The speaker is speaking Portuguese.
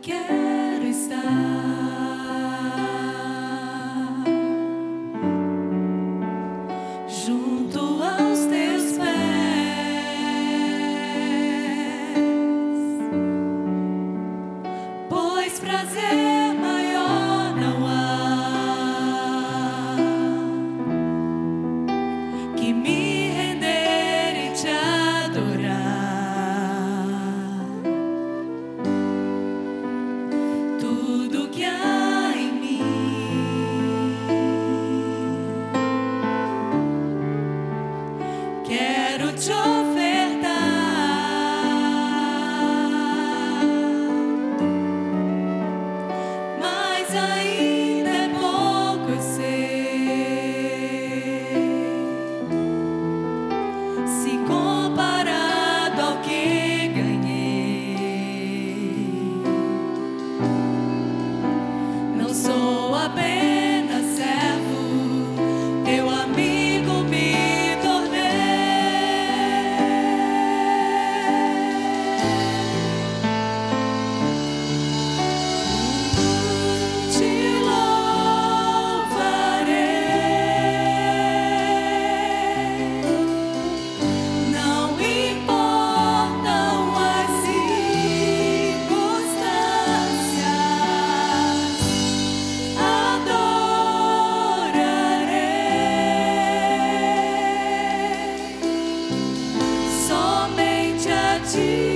quero estar junto aos teus pés, pois prazer maior não há que me render e te adorar. Tudo que há em mim quero te ofertar, mas ainda é pouco, eu sei, se comparado ao que ganhei. Não sou apenas servo, teu amigo me tornei. Te louvarei, não importam as circunstâncias, adorarei somente a ti.